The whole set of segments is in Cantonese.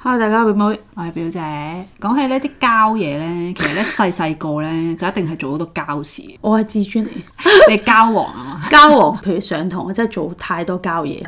Hello， 大家表妹， 我係表姐。講起呢啲膠嘢咧，其實咧細個咧就一定係做好多膠事。 我係自尊嚟， 你係膠王啊嘛？ 膠王，譬如上堂，我真係做太多膠嘢。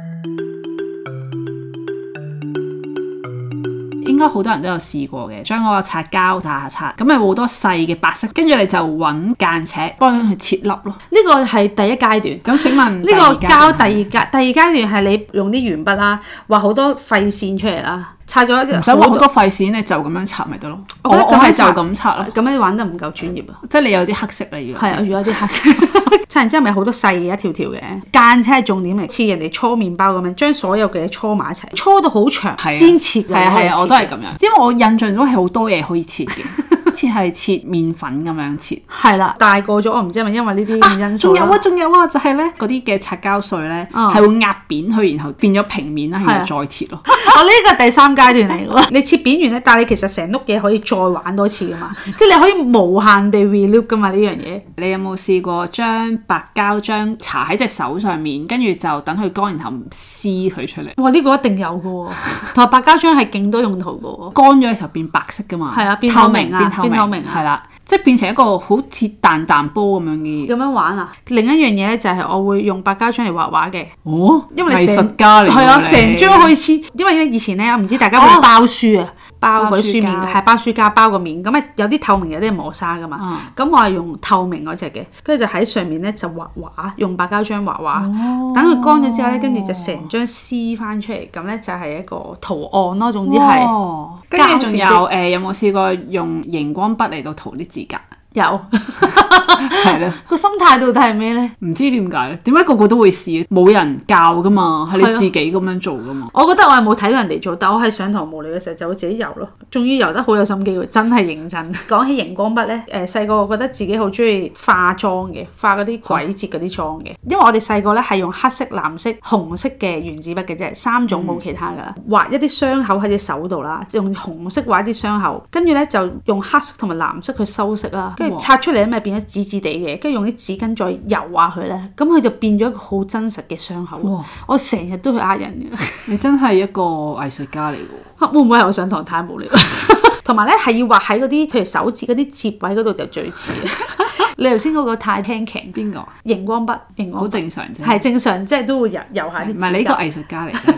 應該好多人都有試過嘅，將嗰個擦膠擦，咁咪好多細嘅白色，跟住你就揾間尺幫佢切粒咯。 呢個係第一階段。咁請問呢個膠第二階段係你用啲鉛筆啦，畫好多廢線出嚟啦。擦咗唔使畫好多廢線，你就咁樣擦咪得咯。我係就咁擦咯。 咁樣玩得唔夠專業啊！ 即係你有啲黑色你要。 係啊，要有啲黑色。擦完之後咪好多細嘅一條條嘅間尺係重點嚟，似人哋搓麵包咁樣，將所有嘅嘢搓埋一齊，搓到好長先切。 係啊，我都係咁樣。因為我印象中係好多嘢可以切嘅。好似係切麵粉咁樣切，係啦。大個咗，我唔知係咪因為呢啲因素。仲有啊，就係咧嗰啲嘅擦膠碎咧，係會壓扁佢，然後變咗平面啦，然後再切咯。 我呢個第三階段嚟嘅，你切扁完咧，但係你其實成碌嘢可以再玩多次噶嘛，即係你可以無限地 reloop 噶嘛呢樣嘢。你有冇試過將白膠漿搽喺隻手上面，跟住就等佢乾，然後撕佢出嚟？哇！呢個一定有嘅喎，同埋白膠漿係勁多用途嘅喎。乾咗嘅時候變白色噶嘛，係啊，變透明啊。變透明係啦，即係變成一個好似彈波咁樣嘅。咁樣玩啊！另一樣嘢咧就係我會用白膠漿嚟畫畫嘅。哦，因為你藝術家嚟。係啊，成張可以黐。因為咧以前咧，我唔知大家會包書啊，包嗰啲書面係包書膠包個面。咁啊有啲透明，有啲係磨砂噶嘛。咁我係用透明嗰隻嘅，跟住就喺上面咧就畫畫，用白膠漿畫畫。等佢乾咗之後咧，跟住就成張撕翻出嚟，咁咧就係一個圖案咯。總之係。跟住仲有有冇試過用熒光筆嚟到塗啲指甲？有，係啦。個心態到底係咩咧？唔知點解咧？點解個個都會試？冇人教噶嘛，係你自己咁樣做噶嘛。我覺得我係冇睇到人哋做，但我喺上堂無聊嘅時候就會自己油咯。仲要油得好有心機喎，真係認真。講起熒光筆咧，細個我覺得自己好中意化妝嘅，化嗰啲鬼節嗰啲妝嘅。因為我哋細個咧係用黑色、藍色、紅色嘅原子筆嘅啫，3種冇其他噶。畫一啲傷口喺隻手度啦，用紅色畫一啲傷口，跟住咧就用黑色同埋藍色去修飾啦。擦出嚟咧咪變咗紫紫地嘅，跟住用啲紙巾再油下佢咧，咁佢就變咗一個好真實嘅傷口。哇！我成日都去呃人嘅。你真係一個藝術家嚟㗎。會唔會係我上堂太無聊？同埋咧係要畫喺嗰啲譬如手指嗰啲接位嗰度就最似。你頭先嗰個太輕騎邊個？熒光筆，好正常啫。係正常，即係都會油下啲。唔係你呢個藝術家嚟嘅。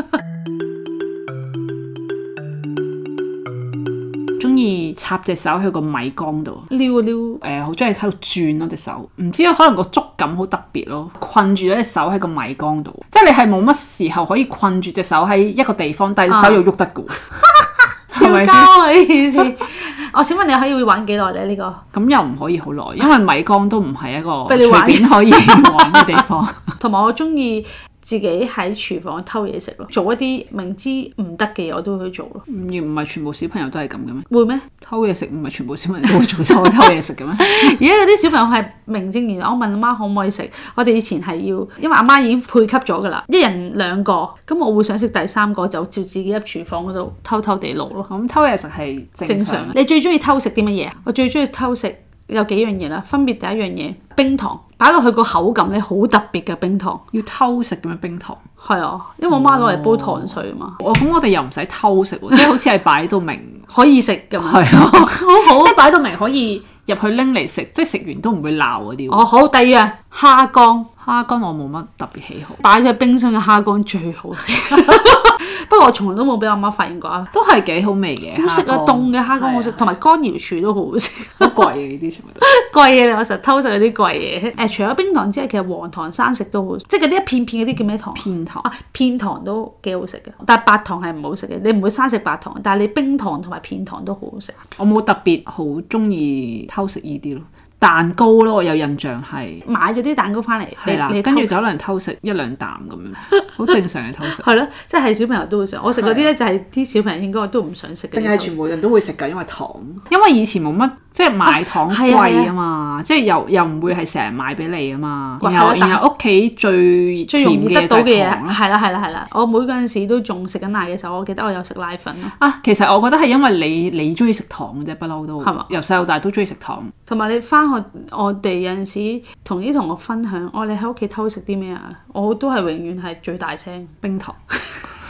中意插隻手去個米缸度撩啊撩，好中意喺度轉咯隻手，唔知可能個觸感好特別咯，困住咗隻手喺個米缸度，即係你係冇乜時候可以困住隻手喺一個地方，但係隻手又喐得嘅，超膠啊呢件事！我請問你可以玩幾耐咧？呢個咁又唔可以好耐，因為米缸都唔係一個隨便可以玩嘅地方。同埋我中意自己喺廚房偷嘢食咯，做一啲明知唔得嘅嘢我都會去做咯。唔係全部小朋友都係咁嘅咩？會咩？偷嘢食唔係全部小朋友都會做偷嘢食嘅咩？而家有啲小朋友係名正言順，我問阿媽可唔可以食。我哋以前係要，因為阿媽已經配給咗噶啦，一人2個，咁我會想食第3個就照自己入廚房嗰度偷偷地攞咯。咁偷嘢食係正常。你最中意偷食啲乜嘢？我最中意偷食有幾樣嘢啦，分別第一樣嘢冰糖。擺落去個口感咧好特別嘅冰糖，要偷食咁樣冰糖。係啊，因為我媽攞嚟煲糖水啊嘛。咁我哋又唔使偷食喎，即係好似係擺到明可以食㗎嘛。係啊，好好，即係擺到明可以入去拎嚟食，即係食完都唔會鬧嗰啲。哦，好，第二樣蝦乾。蝦乾我冇乜特別喜好，擺喺冰箱嘅蝦乾最好食。不過我從來都冇俾我媽發現過啊，都係幾好味嘅。好食啊，凍嘅蝦乾好食，同埋乾瑤柱都好好食。好貴嘅呢啲全部都貴嘢，我成日偷食嗰啲貴嘢。除咗冰糖之外，其實黃糖生食都好食，即係嗰啲一片片嗰啲叫咩糖？片糖啊，片糖都幾好食嘅，但係白糖係唔好食嘅。你唔會生食白糖，但係你冰糖同埋片糖都好好食。我冇特別好中意偷食呢啲咯。蛋糕咯，我有印象係買咗啲蛋糕翻嚟，係啦，跟住就可能偷食1-2啖咁樣，好正常嘅偷食。係咯，即係小朋友都會想。我食嗰啲咧就係啲小朋友應該都唔想食嘅。定係全部人都會食㗎？因為糖，因為以前冇乜即係買糖貴啊嘛，即係又唔會係成日買俾你啊嘛。然後屋企最容易得到嘅嘢係啦。我妹嗰陣時都仲食緊奶嘅時候，我記得我有食奶粉咯。啊，其實我覺得係因為你中意食糖嘅啫，不嬲都係嘛，由細到大都中意食糖。同埋你翻我哋有陣時同啲同學分享，你喺屋企偷食啲咩啊？我都係永遠係最大聲冰糖。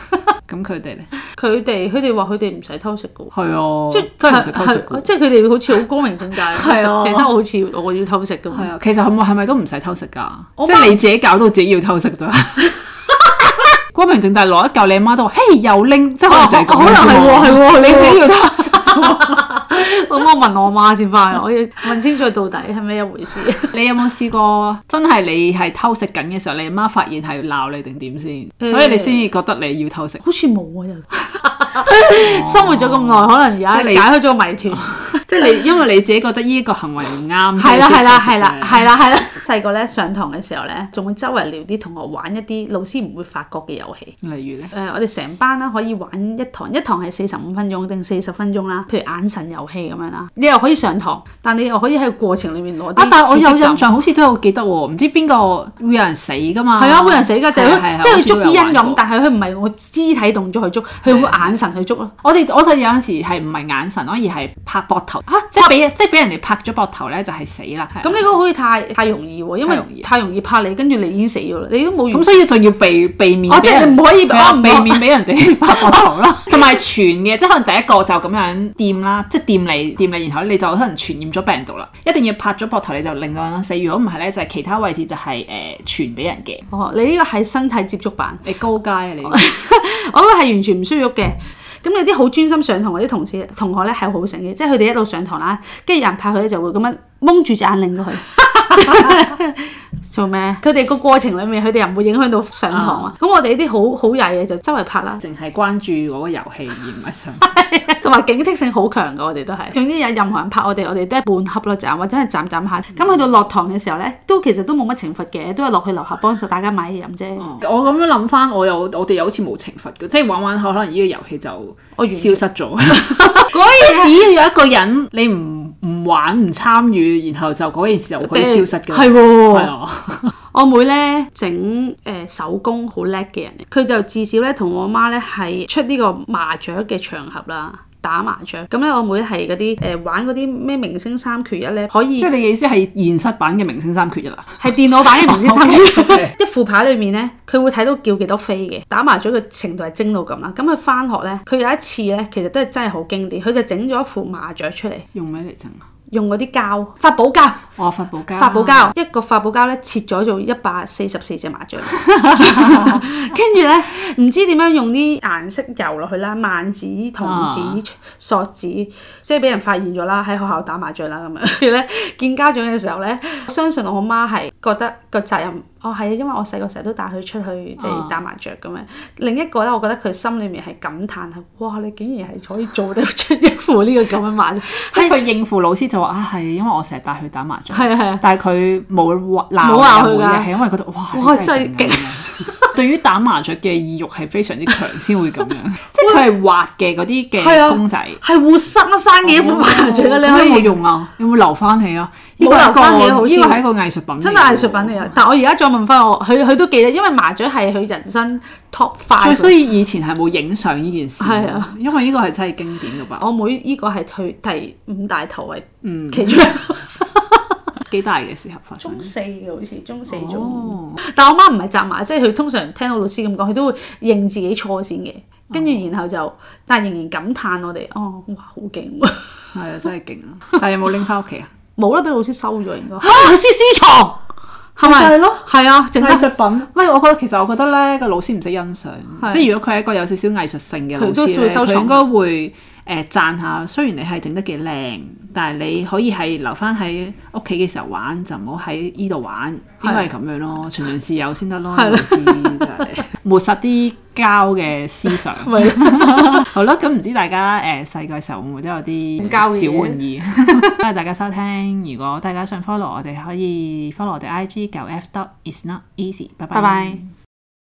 咁佢哋咧？ 佢哋話佢哋唔使偷食嘅喎。 係啊，即係真係唔使偷食嘅。 即係佢哋好似好光明正大，淨得我好似我要偷食咁。 係啊，其實係咪都唔使偷食㗎？即係你自己搞到自己要偷食咋？光明正大攞一嚿，你阿媽都話：嘿，又拎，即係可能成日講係喎，你自己要偷食啫。 咁我問我媽先翻，我要問清楚到底係咩一回事。 你有冇試過真係你係偷食緊嘅時候，你阿媽發現係鬧你定點先？所以你先至覺得你要偷食？ 好似冇啊，又生活咗咁耐，可能而家解開咗個謎團。 即係你，因為你自己覺得呢個行為唔啱。 係啦。細個咧上堂嘅時候咧，仲會周圍撩啲同學玩一啲老師唔會發覺嘅遊戲。 例如咧， 我哋成班啦可以玩一堂係45分鐘定40分鐘啦。譬如眼神遊戲咁樣啦，你又可以上堂，但你又可以喺個過程裡面攞啲。 但係我有印象，好似都有記得喎，唔知邊個會有人死㗎嘛？ 係啊，會有人死㗎，即係佢捉啲人咁，但係佢唔係我肢體動作去捉，佢會眼神去捉咯。 我哋有陣時係唔係眼神咯，而係拍膊頭。即係俾人哋拍咗膊頭咧，就係死啦。 咁你嗰個好似太容易喎，因為太容易拍你，跟住你已經死咗啦，你都冇。 咁所以就要避免。 即係你唔可以避免俾人哋拍膊頭啦。同埋傳嘅，即係可能第一個就咁樣掂啦，即係掂你，然後你就可能傳染咗病毒啦。一定要拍咗膊頭你就令到人死，如果唔係咧，就係其他位置就係傳俾人嘅。 哦，你呢個係身體接觸版， 你高階啊你。 我覺得係完全唔需要喐嘅。咁有啲好專心上堂嗰啲同學咧係好醒嘅，即係佢哋一路上堂啦，跟住有人拍佢咧就會咁樣蒙住隻眼令到佢。做咩？佢哋個過程裡面，佢哋又唔會影響到上堂啊。咁我哋呢啲好曳嘅就周圍拍啦， 淨係關注嗰個遊戲而唔係上。 同埋警惕性好強㗎，我哋都係。總之有任何人拍我哋都係半恰咯，就或者係站下。咁去到落堂嘅時候咧，其實都冇乜懲罰嘅，都係落去樓下幫手大家買嘢飲啫。 我咁樣諗翻，我哋又好似冇懲罰嘅，即係玩可能呢個遊戲就消失咗。只要有一個人你唔玩唔參與，然後就嗰件事就可以消失嘅。係喎。 我妹咧整手工好叻嘅人，佢就至少咧同我媽咧係出呢個麻雀嘅場合啦，打麻雀。咁咧我妹係嗰啲玩嗰啲咩明星三缺一咧，可以。即係你嘅意思係現實版嘅明星三缺一啦？係電腦版嘅明星三缺一。一副牌裏面咧，佢會睇到叫幾多飛嘅，打麻雀嘅程度係精到咁啦。咁佢翻學咧，佢有一次咧，其實都係真係好經典，佢就整咗一副麻雀出嚟。用咩嚟整啊？用嗰啲膠，發寶膠。發寶膠，一個發寶膠咧切咗做144隻麻雀，跟住咧唔知點樣用啲顏色油落去啦，萬子、銅子、索子，即係俾人發現咗啦，喺學校打麻雀啦咁樣。跟住咧見家長嘅時候咧，我相信我媽係覺得個責任。係啊，因為我細個成日都帶佢出去即係打麻雀咁樣。另一個咧，我覺得佢心裏面係感嘆係，哇！你竟然係可以做得出一副呢個咁嘅麻雀。即係佢應付老師就話係因為我成日帶佢打麻雀。係。但係佢冇鬧佢嘅，係因為覺得哇真係勁。對於打麻雀嘅意欲係非常之強先會咁樣。即係佢係畫嘅嗰啲嘅公仔。係活生生嘅一副麻雀。你可以有冇用啊？有冇留翻起啊？冇留翻起，好似呢個係一個藝術品。真係藝術品嚟嘅。但係我而家再問翻我，佢都記得，因為麻雀係佢人生 top 5。所以以前係冇影相呢件事。係啊，因為呢個係真係經典㗎吧。我妹呢個係佢第5大頭位，其中一個。幾大嘅時候發生？中4嘅好似，中4中。但係我媽唔係責罵，即係佢通常聽到老師咁講，佢都會認自己錯先嘅，跟住然後就，但係仍然感嘆我哋，哇好勁喎！係啊，真係勁啊！但係有冇拎翻屋企啊？冇啦，俾老師收咗應該。老師私藏係咪？係咯，係啊，整藝術品。喂，我覺得咧個老師唔識欣賞，即係如果佢係一個有少少藝術性嘅老師咧，佢應該會讚下。雖然你係整得幾靚，但係你可以係留翻喺屋企嘅時候玩，就唔好喺依度玩。應該係咁樣咯，循循善誘先得咯。老師抹殺啲膠嘅思想。好啦，咁唔知大家細個嘅時候會唔會都有啲小玩意？多謝大家收聽。如果大家想 follow 我哋，可以 follow 我哋 IG 9F.isnoteasy。拜拜。